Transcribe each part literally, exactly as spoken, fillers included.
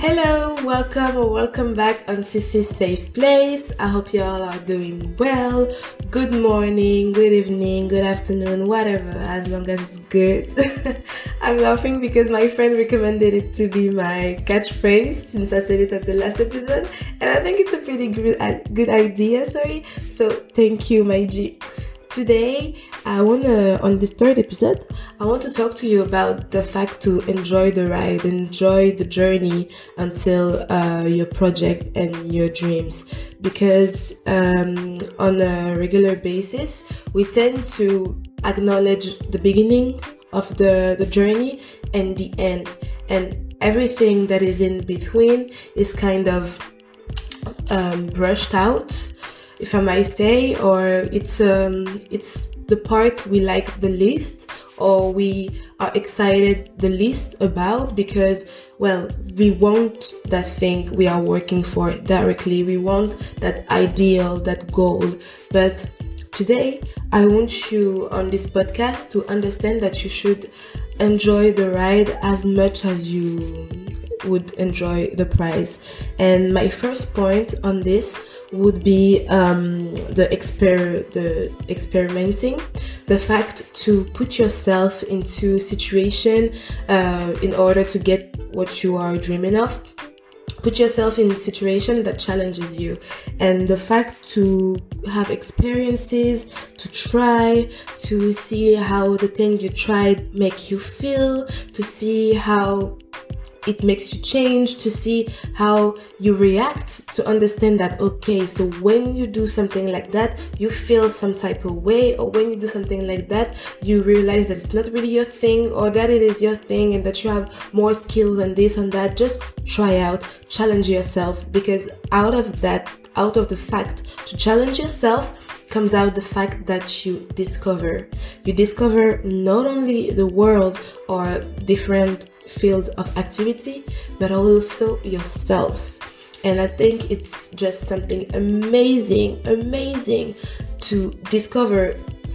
Hello, welcome or welcome back on Sissy's Safe Place. I hope you all are doing well. Good morning, good evening, good afternoon, whatever, as long as it's good. I'm laughing because my friend recommended it to be my catchphrase since I said it at the last episode, and I think it's a pretty good, good idea, sorry. So thank you, my G. Today, I wanna, on this third episode, I want to talk to you about the fact to enjoy the ride, enjoy the journey until uh, your project and your dreams. Because um, on a regular basis, we tend to acknowledge the beginning of the, the journey and the end. And everything that is in between is kind of um, brushed out, if I might say, or it's um it's the part we like the least, or we are excited the least about, because, well, we want that thing we are working for directly. We want that ideal, that goal. But today, I want you on this podcast to understand that you should enjoy the ride as much as you would enjoy the prize. And my first point on this would be um, the exper the experimenting, the fact to put yourself into situation uh, in order to get what you are dreaming of. Put yourself in a situation that challenges you, and the fact to have experiences, to try, to see how the thing you tried make you feel, to see how it makes you change, to see how you react, to understand that, okay, so when you do something like that, you feel some type of way, or when you do something like that, you realize that it's not really your thing, or that it is your thing, and that you have more skills and this and that. Just try out, challenge yourself, because out of that, out of the fact to challenge yourself, comes out the fact that you discover. You discover not only the world or different field of activity, but also yourself. And I think it's just something amazing, amazing to discover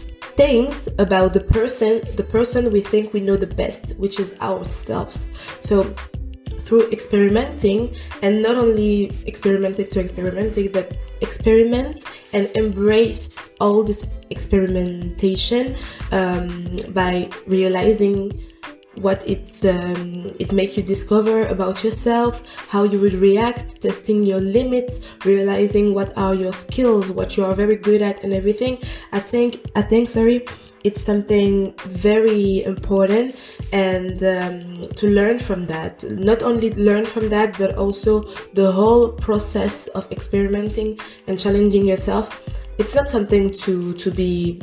things about the person, the person we think we know the best, which is ourselves. So through experimenting, and not only experimenting to experimenting, but experiment and embrace all this experimentation um, by realizing what it's um, it makes you discover about yourself, how you would react, testing your limits, realizing what are your skills, what you are very good at, and everything. I think I think sorry. It's something very important, and um, to learn from that, not only learn from that, but also the whole process of experimenting and challenging yourself. It's not something to, to be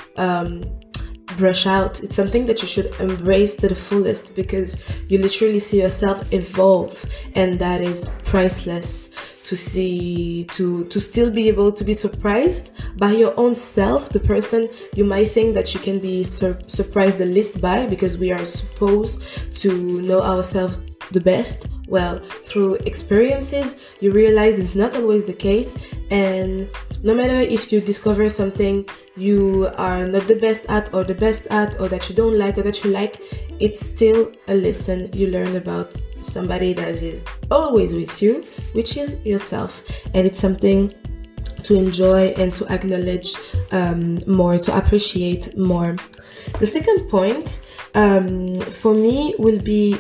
um, brush out. It's something that you should embrace to the fullest, because you literally see yourself evolve, and that is priceless. To see, to, to still be able to be surprised by your own self, the person you might think that you can be sur- surprised the least by, because we are supposed to know ourselves the best. Well, through experiences, you realize it's not always the case, and no matter if you discover something you are not the best at, or the best at, or that you don't like, or that you like, it's still a lesson you learn about somebody that is always with you, which is yourself. And it's something to enjoy and to acknowledge um, more, to appreciate more. The second point um, for me will be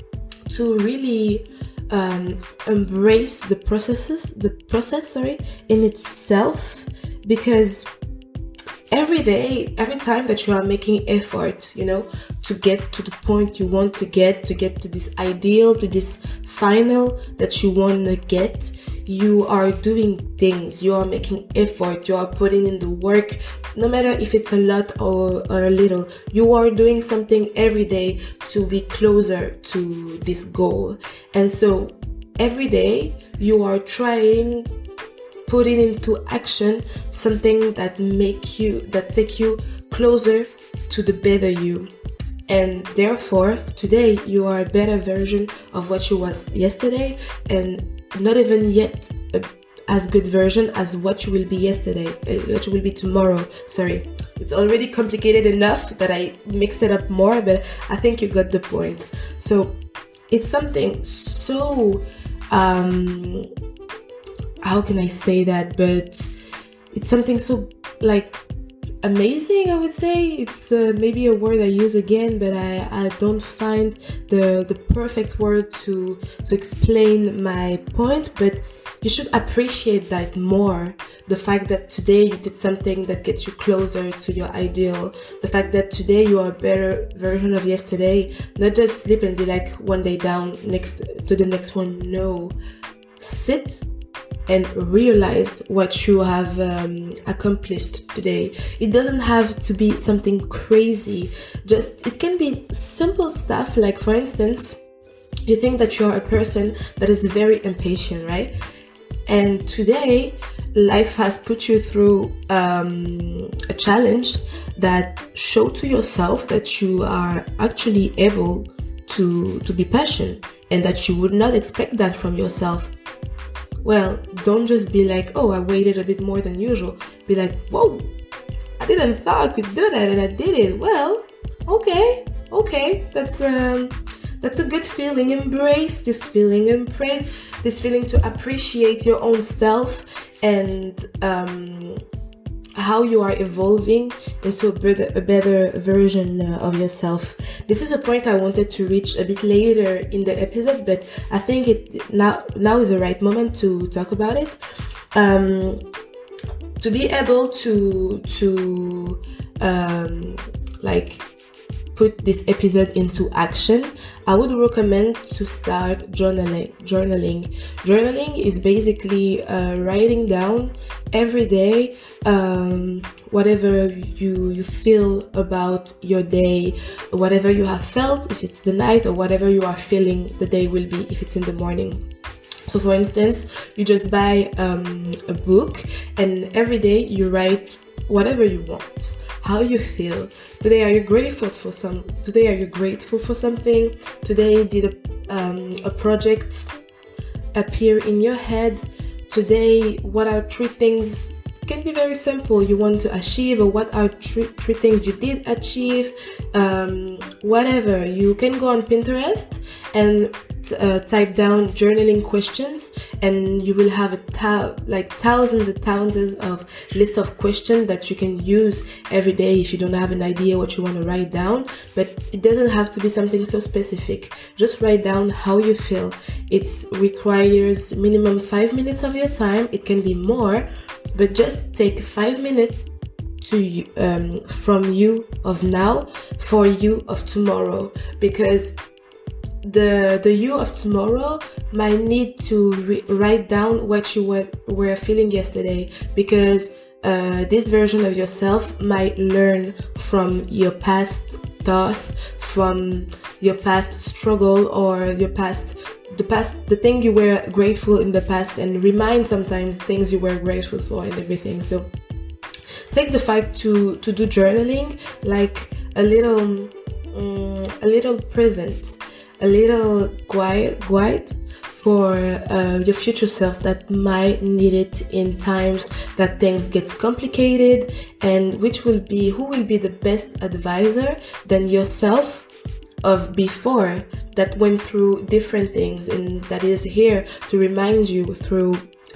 to really um, embrace the processes, the process, sorry, in itself, because every day, every time that you are making effort, you know, to get to the point you want to get, to get to this ideal, to this final that you want to get, you are doing things, you are making effort, you are putting in the work, no matter if it's a lot or, or a little. You are doing something every day to be closer to this goal. And so every day you are trying, putting into action something that make you, that take you closer to the better you. And therefore, today you are a better version of what you was yesterday, and not even yet a, as good version as what you will be yesterday, uh, what you will be tomorrow. Sorry, it's already complicated enough that I mixed it up more, but I think you got the point. So it's something so, um, how can I say that? But it's something so like amazing, I would say. It's uh, maybe a word I use again, but I, I don't find the the perfect word to to explain my point. But you should appreciate that more. The fact that today you did something that gets you closer to your ideal. The fact that today you are a better version of yesterday. Not just sleep and be like one day down next to the next one. No. Sit and realize what you have um, accomplished today. It doesn't have to be something crazy. Just, it can be simple stuff. Like, for instance, you think that you're a person that is very impatient, right? And today, life has put you through um, a challenge that show to yourself that you are actually able to, to be patient, and that you would not expect that from yourself. Well, don't just be like, oh, I waited a bit more than usual. Be like, whoa, I didn't thought I could do that and I did it. Well, okay, okay, that's um, that's a good feeling. Embrace this feeling. Embrace this feeling to appreciate your own self and um, how you are evolving into a better, a better version uh, of yourself. This is a point I wanted to reach a bit later in the episode, but I think it now now is the right moment to talk about it. Um, to be able to to um, like put this episode into action, I would recommend to start journaling. Journaling. Journaling is basically uh, writing down every day um, whatever you you feel about your day, whatever you have felt, if it's the night, or whatever you are feeling the day will be, if it's in the morning. So for instance, you just buy um, a book, and every day you write whatever you want. How you feel. Today, are you grateful for some? Today, are you grateful for something? Today, did a, um, a project appear in your head? Today, what are three things? It can be very simple. You want to achieve, or what are three, three things you did achieve? Um, whatever. You can go on Pinterest and uh, type down journaling questions, and you will have a ta- like thousands and thousands of list of questions that you can use every day if you don't have an idea what you want to write down. But it doesn't have to be something so specific. Just write down how you feel. It requires minimum five minutes of your time. It can be more, but just take five minutes to you, um, from you of now for you of tomorrow, because the the you of tomorrow might need to re- write down what you were, were feeling yesterday, because uh, this version of yourself might learn from your past thoughts, from your past struggle, or your past the past the thing you were grateful in the past, and remind sometimes things you were grateful for and everything. So take the fact to to do journaling like a little um, a little present, a little quiet, quiet for uh, your future self that might need it in times that things get complicated, and which will be, who will be the best advisor than yourself of before that went through different things, and that is here to remind you through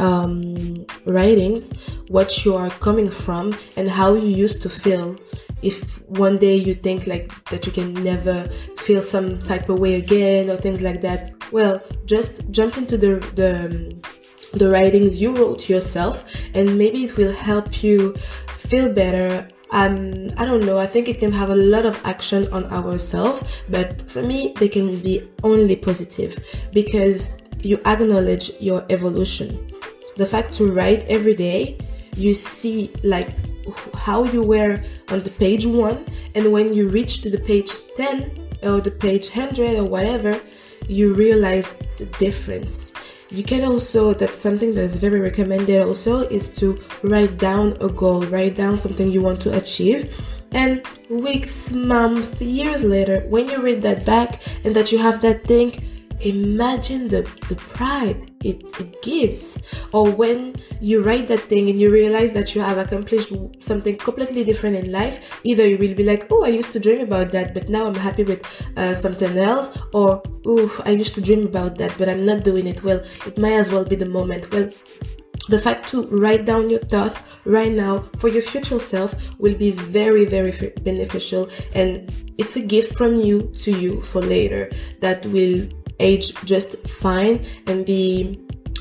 um, writings what you are coming from and how you used to feel. If one day you think like that you can never feel some type of way again or things like that, well, just jump into the the, the writings you wrote yourself, and maybe it will help you feel better. Um, I don't know, I think it can have a lot of action on ourselves, but for me, they can be only positive because you acknowledge your evolution. The fact to write every day, you see like how you were on the page one, and when you reach to the page ten or the page one hundred or whatever, you realize the difference. You can also, that's something that is very recommended also, is to write down a goal, write down something you want to achieve, and weeks, months, years later, when you read that back and that you have that thing, imagine the, the pride it, it gives. Or when you write that thing and you realize that you have accomplished something completely different in life, either you will be like, oh, I used to dream about that, but now I'm happy with uh, something else. Or, oh, I used to dream about that, but I'm not doing it. Well, it might as well be the moment. Well, the fact to write down your thoughts right now for your future self will be very, very beneficial. And it's a gift from you to you for later that will age just fine and be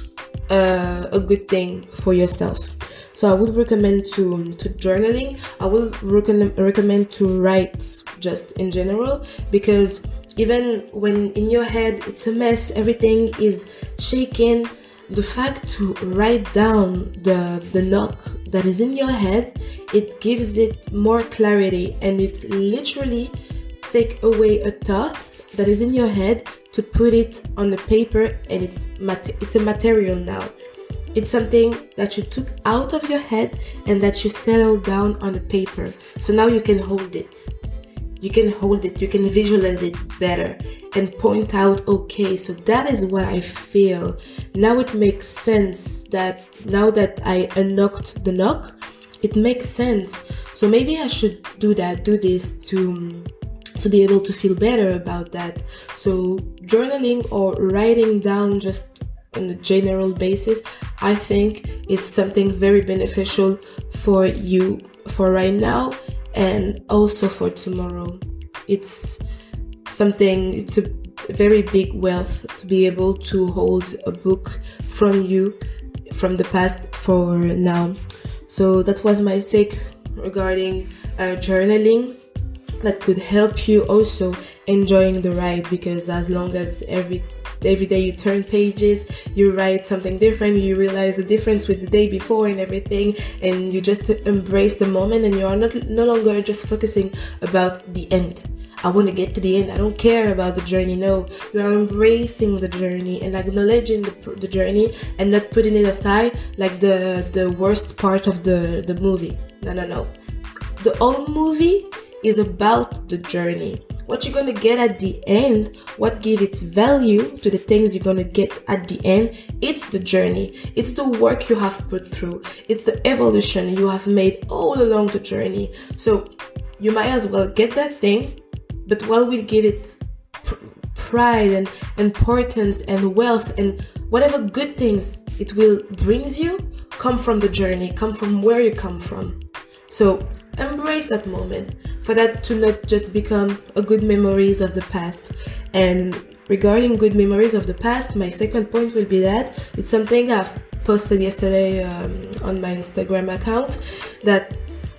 uh, a good thing for yourself. So I would recommend to to journaling. I will recommend recommend to write just in general, because even when in your head it's a mess, everything is shaking, the fact to write down the the knock that is in your head, it gives it more clarity, and it's literally take away a thought that is in your head to put it on the paper, and it's mat- it's a material now. It's something that you took out of your head and that you settled down on the paper. So now you can hold it. You can hold it, you can visualize it better and point out, okay, so that is what I feel. Now it makes sense that now that I unlocked the knock, it makes sense. So maybe I should do that, do this to, to be able to feel better about that. So journaling or writing down just on a general basis, I think is something very beneficial for you for right now and also for tomorrow. It's something, it's a very big wealth to be able to hold a book from you from the past for now. So that was my take regarding uh, journaling. That could help you also enjoying the ride, because as long as every every day you turn pages, you write something different, you realize the difference with the day before and everything, and you just embrace the moment, and you are not no longer just focusing about the end. I want to get to the end, I don't care about the journey. No, you are embracing the journey and acknowledging the, the journey and not putting it aside like the the worst part of the the movie. No no no the whole movie is about the journey. What you're going to get at the end, what gives its value to the things you're going to get at the end, it's the journey. It's the work you have put through. It's the evolution you have made all along the journey. So you might as well get that thing, but while we give it pr- pride and importance and wealth and whatever good things it will brings you, come from the journey, come from where you come from. So embrace that moment for that to not just become a good memories of the past. And regarding good memories of the past, my second point will be that it's something I've posted yesterday um, on my Instagram account, that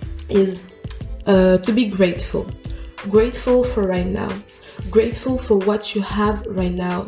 is uh, to be grateful. Grateful for right now. Grateful for what you have right now.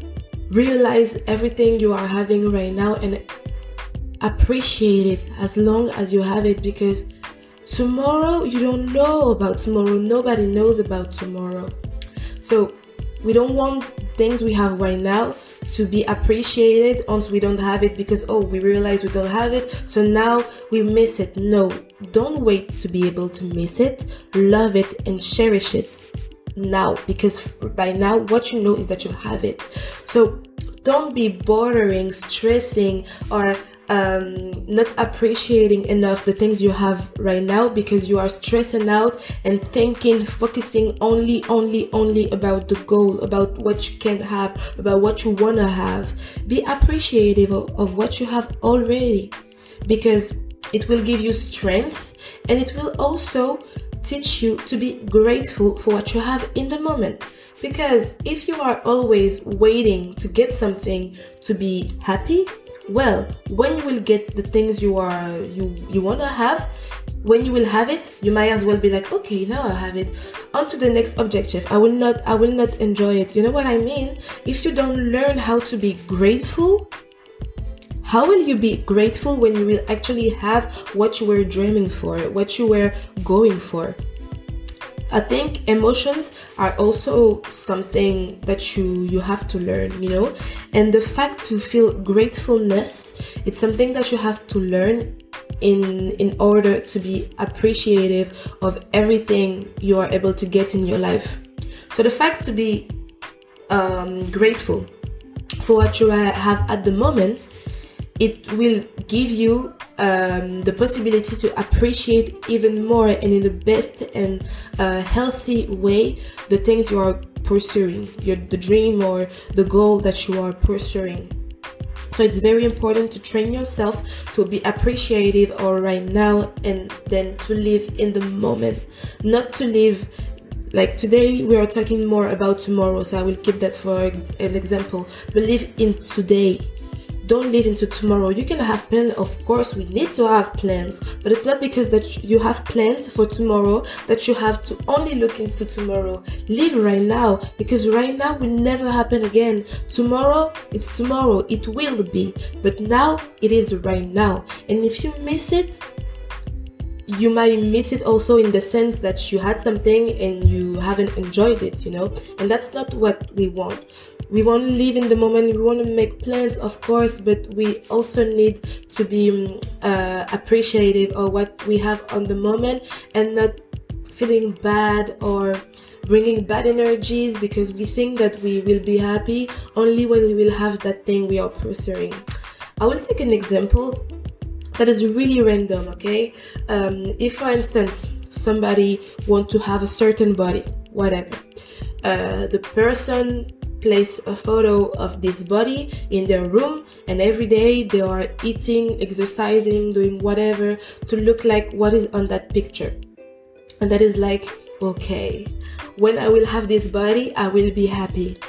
Realize everything you are having right now and appreciate it as long as you have it, because tomorrow, you don't know about tomorrow. Nobody knows about tomorrow. So we don't want things we have right now to be appreciated once we don't have it, because, oh, we realize we don't have it, so now we miss it. No, don't wait to be able to miss it. Love it and cherish it now, because by now what you know is that you have it. So don't be bothering, stressing, or Um, not appreciating enough the things you have right now, because you are stressing out and thinking, focusing only, only, only about the goal, about what you can have, about what you want to have. Be appreciative of, of what you have already, because it will give you strength, and it will also teach you to be grateful for what you have in the moment. Because if you are always waiting to get something to be happy, well, when you will get the things you are you you want to have, when you will have it, you might as well be like, okay, now I have it, on to the next objective. I will not I will not enjoy it. You know what I mean? If you don't learn how to be grateful, how will you be grateful when you will actually have what you were dreaming for, what you were going for? I think emotions are also something that you, you have to learn, you know, and the fact to feel gratefulness, it's something that you have to learn in, in order to be appreciative of everything you are able to get in your life. So the fact to be um, grateful for what you have at the moment, it will give you um, the possibility to appreciate even more and in the best and uh, healthy way the things you are pursuing, your the dream or the goal that you are pursuing. So it's very important to train yourself to be appreciative or right now, and then to live in the moment, not to live like today. We are talking more about tomorrow, so I will keep that for ex- an example. But live in today. Don't live into tomorrow. You can have plans, of course, we need to have plans, but it's not because that you have plans for tomorrow that you have to only look into tomorrow. Live right now, because right now will never happen again. Tomorrow, it's tomorrow, it will be, but now it is right now. And if you miss it, you might miss it also in the sense that you had something and you haven't enjoyed it, you know, and that's not what we want. We want to live in the moment, we want to make plans, of course, but we also need to be uh, appreciative of what we have on the moment and not feeling bad or bringing bad energies because we think that we will be happy only when we will have that thing we are pursuing. I will take an example that is really random, okay? Um, if, for instance, somebody wants to have a certain body, whatever, uh, the person place a photo of this body in their room, and every day they are eating, exercising, doing whatever to look like what is on that picture. And that is like, okay, when I will have this body, I will be happy.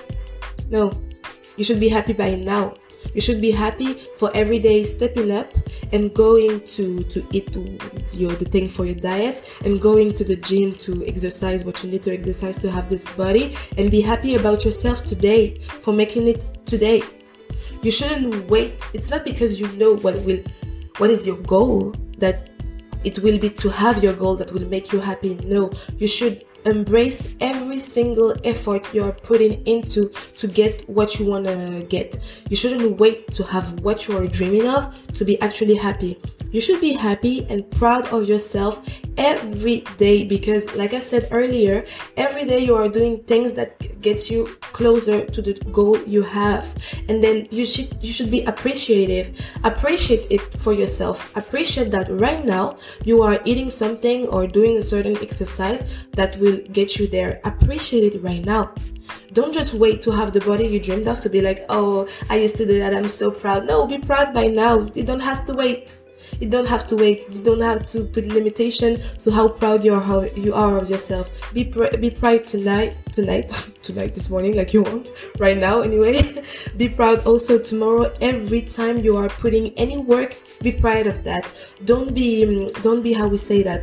No, you should be happy by now. You should be happy for every day stepping up and going to, to eat your, the thing for your diet and going to the gym to exercise what you need to exercise to have this body, and be happy about yourself today for making it today. You shouldn't wait. It's not because you know what will, what is your goal that it will be to have your goal that will make you happy. No, you should embrace every single effort you're putting into to get what you want to get. You shouldn't wait to have what you are dreaming of to be actually happy. You should be happy and proud of yourself every day, because like I said earlier, every day you are doing things that gets you closer to the goal you have. And then you should you should be appreciative. Appreciate it for yourself. Appreciate that right now you are eating something or doing a certain exercise that will get you there. Appreciate it right now. Don't just wait to have the body you dreamed of to be like, oh, I used to do that, I'm so proud. No, be proud by now. You don't have to wait. You don't have to wait. You don't have to put limitation to how proud you are, how you are of yourself. Be pr- be proud tonight, tonight, tonight, this morning, like you want, right now anyway. Be proud also tomorrow. Every time you are putting any work, be proud of that. Don't be, don't be how we say that,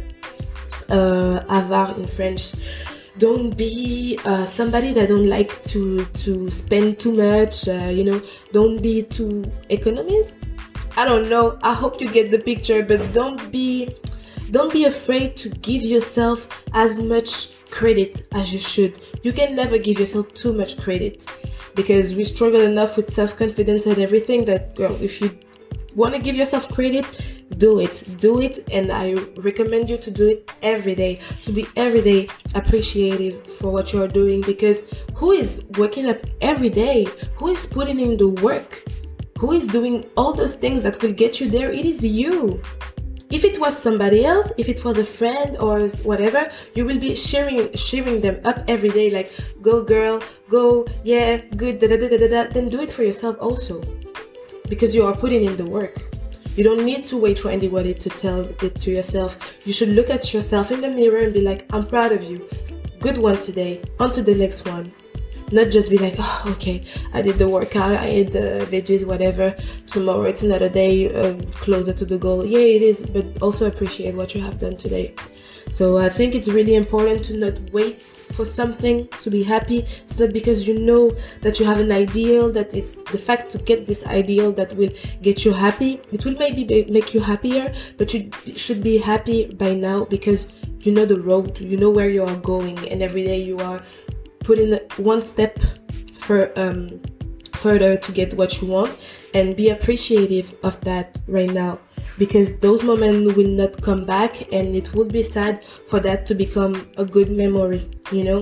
uh, avare in French. Don't be uh, somebody that don't like to to spend too much. Uh, you know, don't be too economist. I don't know. I hope you get the picture, but don't be don't be afraid to give yourself as much credit as you should. You can never give yourself too much credit, because we struggle enough with self-confidence and everything that, girl, if you want to give yourself credit, do it. Do it, and I recommend you to do it every day, to be every day appreciative for what you are doing, because who is waking up every day? Who is putting in the work? Who is doing all those things that will get you there? It is you. If it was somebody else, if it was a friend or whatever, you will be cheering, cheering them up every day, like, go girl, go, yeah, good, da da da da da. Then do it for yourself also, because you are putting in the work. You don't need to wait for anybody to tell it to yourself. You should look at yourself in the mirror and be like, I'm proud of you. Good one today. On to the next one. Not just be like, oh, okay, I did the workout, I ate the veggies, whatever. Tomorrow it's another day, uh, closer to the goal. Yeah, it is, but also appreciate what you have done today. So I think it's really important to not wait for something to be happy. It's not because you know that you have an ideal, that it's the fact to get this ideal that will get you happy. It will maybe be, make you happier, but you should be happy by now, because you know the road, you know where you are going, and every day you are putting one step for um further to get what you want, and be appreciative of that right now, because those moments will not come back, and it would be sad for that to become a good memory, you know.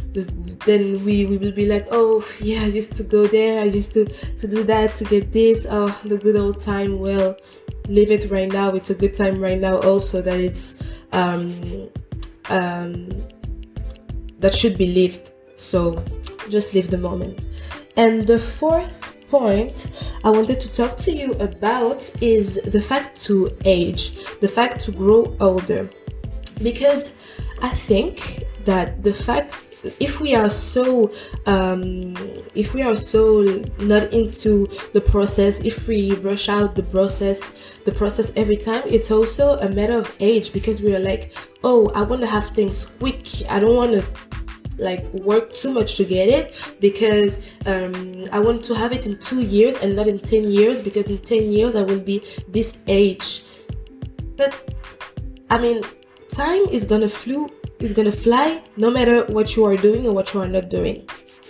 then we, we will be like, oh yeah, I used to go there, I used to, to do that, to get this, oh, the good old time. Well, live it right now. It's a good time right now also that it's, um, um, that should be lived. So just live the moment. And the fourth point I wanted to talk to you about is the fact to age, the fact to grow older. Because I think that the fact, if we are so um if we are so not into the process, if we rush out the process the process every time, it's also a matter of age, because we are like, oh, I want to have things quick, I don't want to like work too much to get it, because um I want to have it in two years and not in ten years, because in ten years I will be this age. But I mean, time is gonna flew is gonna fly no matter what you are doing or what you are not doing.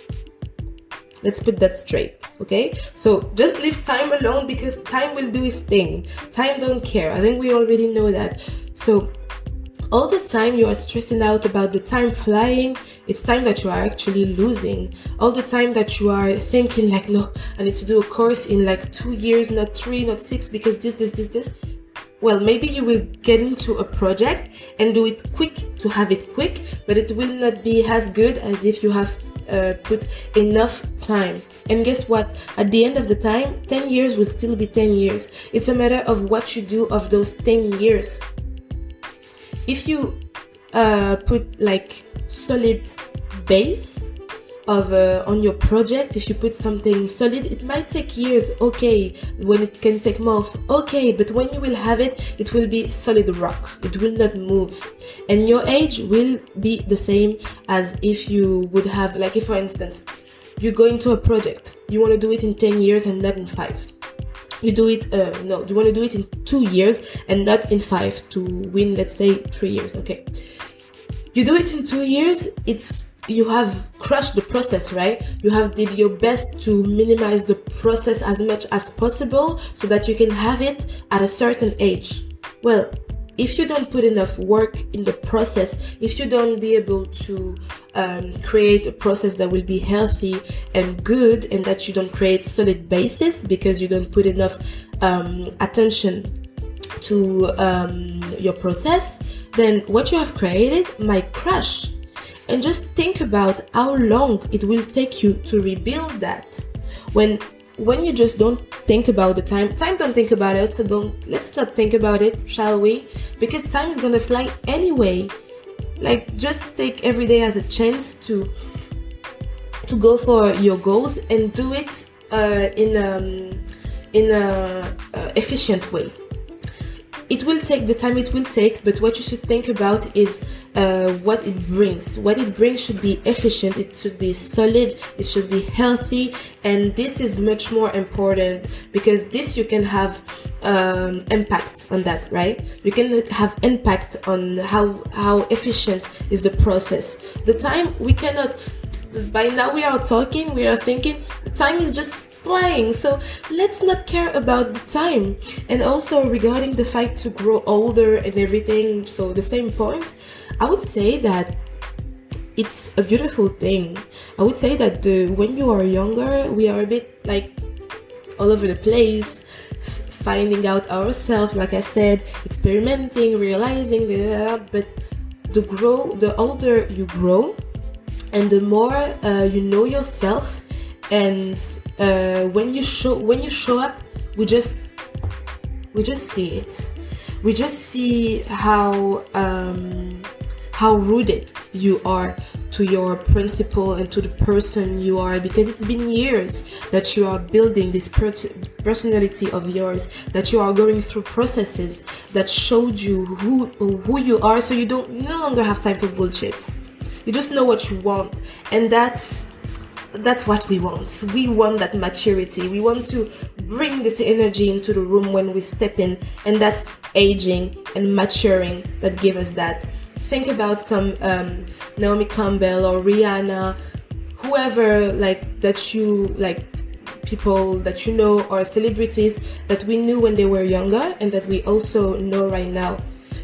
Let's put that straight, okay? So just leave time alone, because time will do its thing. Time don't care. I think we already know that. So all the time you are stressing out about the time flying, it's time that you are actually losing. All the time that you are thinking like, no, I need to do a course in like two years, not three, not six, because this, this, this, this. Well, maybe you will get into a project and do it quick to have it quick, but it will not be as good as if you have uh, put enough time. And guess what? At the end of the time, ten years will still be ten years. It's a matter of what you do of those ten years. If you uh, put like solid base of uh, on your project, if you put something solid, it might take years, okay, when it can take months, okay, but when you will have it, it will be solid rock, it will not move, and your age will be the same as if you would have, like, if for instance you go into a project, you want to do it in ten years and not in five. You do it, uh, no, you want to do it in two years and not in five to win, let's say, three years, okay. You do it in two years, it's you have crushed the process, right? You have did your best to minimize the process as much as possible so that you can have it at a certain age. Well, if you don't put enough work in the process, if you don't be able to um, create a process that will be healthy and good, and that you don't create solid basis because you don't put enough um, attention to um, your process, then what you have created might crash. And just think about how long it will take you to rebuild that. When when you just don't think about the time, time don't think about us, so don't let's not think about it, shall we? Because time is gonna fly anyway. Like, just take every day as a chance to to go for your goals and do it uh, in um in a uh, efficient way. It will take the time it will take, but what you should think about is uh, what it brings. What it brings should be efficient, it should be solid, it should be healthy, and this is much more important, because this you can have um, impact on that, right? You can have impact on how, how efficient is the process. The time, we cannot, by now we are talking, we are thinking, time is just flying, so let's not care about the time. And also regarding the fact to grow older and everything, so the same point, I would say that it's a beautiful thing. I would say that the when you are younger, we are a bit like all over the place, finding out ourselves, like I said, experimenting, realizing that, but the grow the older you grow and the more uh, you know yourself, and uh, when you show when you show up, we just we just see it. We just see how um, how rooted you are to your principle and to the person you are, because it's been years that you are building this per- personality of yours, that you are going through processes that showed you who who you are, so you don't you no longer have time for bullshit. You just know what you want, and that's that's what we want. We want that maturity. We want to bring this energy into the room when we step in, and that's aging and maturing that give us that. Think about some um, Naomi Campbell or Rihanna, whoever like that you like, people that you know, or celebrities that we knew when they were younger and that we also know right now.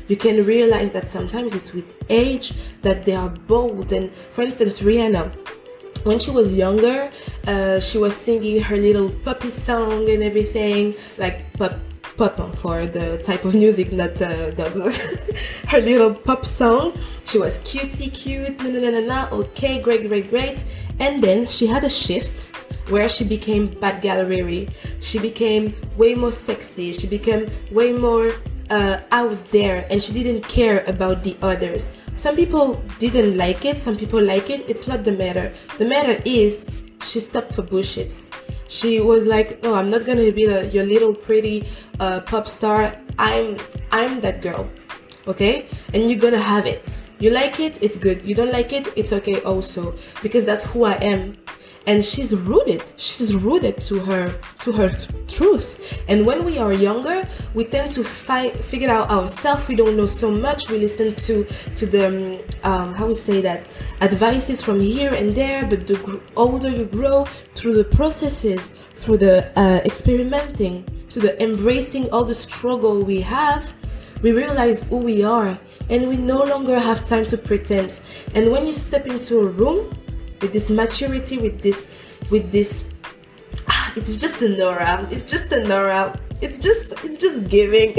you can realize that sometimes it's with age that they are bold. And for instance, Rihanna, when she was younger, uh, she was singing her little puppy song and everything, like pop pop for the type of music, not uh, dogs. Her little pop song. She was cutie cute, na na na na na. Okay, great, great, great. And then she had a shift where she became Bad Gal Riri. She became way more sexy. She became way more uh, out there, and she didn't care about the others. Some people didn't like it. Some people like it. It's not the matter. The matter is she stopped for bullshit. She was like, no, I'm not gonna be the, your little pretty uh, pop star. I'm I'm that girl, okay? And you're gonna have it. You like it, it's good. You don't like it, it's okay also, because that's who I am. And she's rooted. She's rooted to her to her th- truth. And when we are younger, we tend to find figure out ourselves. We don't know so much. We listen to to the um, how we say that advices from here and there. But the gr- older you grow, through the processes, through the uh, experimenting, to the embracing all the struggle we have, we realize who we are, and we no longer have time to pretend. And when you step into a room with this maturity, with this, with this, ah, it's just an aura. It's just an aura. It's just, it's just giving.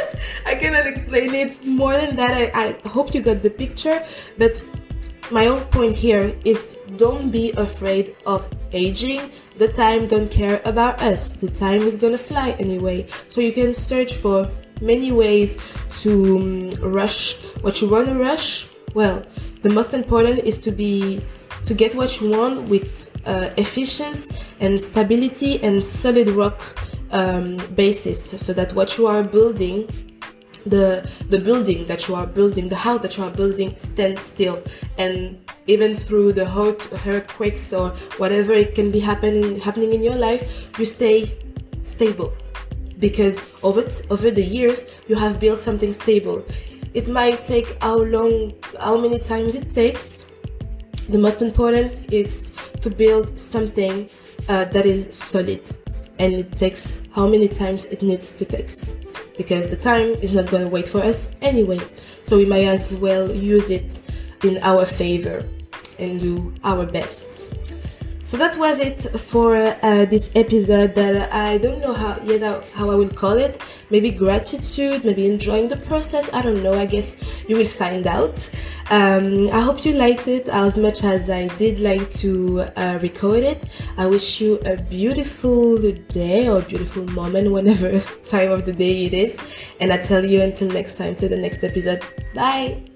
I cannot explain it more than that. I, I hope you got the picture. But my whole point here is, don't be afraid of aging. The time don't care about us. The time is gonna fly anyway. So you can search for many ways to um, rush what you want to rush. Well, the most important is to be to get what you want with uh, efficiency and stability and solid rock um, basis, so that what you are building, the the building that you are building, the house that you are building, stands still. And even through the earth, earthquakes or whatever it can be happening happening in your life, you stay stable, because over t- over the years you have built something stable. It might take how long, how many times it takes. The most important is to build something uh, that is solid, and it takes how many times it needs to take, because the time is not going to wait for us anyway. So we might as well use it in our favor and do our best. So that was it for uh, this episode that I don't know how yet how, how I will call it. Maybe gratitude, maybe enjoying the process. I don't know. I guess you will find out. Um, I hope you liked it as much as I did like to uh, record it. I wish you a beautiful day or beautiful moment, whenever time of the day it is. And I tell you until next time, to the next episode. Bye.